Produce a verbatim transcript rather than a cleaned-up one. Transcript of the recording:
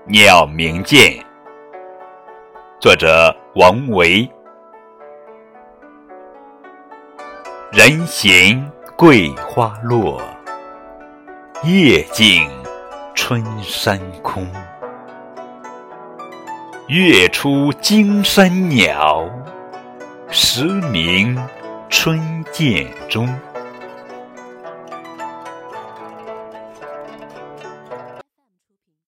鸟鸣涧，作者王维。人行桂花落，夜静春山空。月出惊山鸟，时鸣春涧中。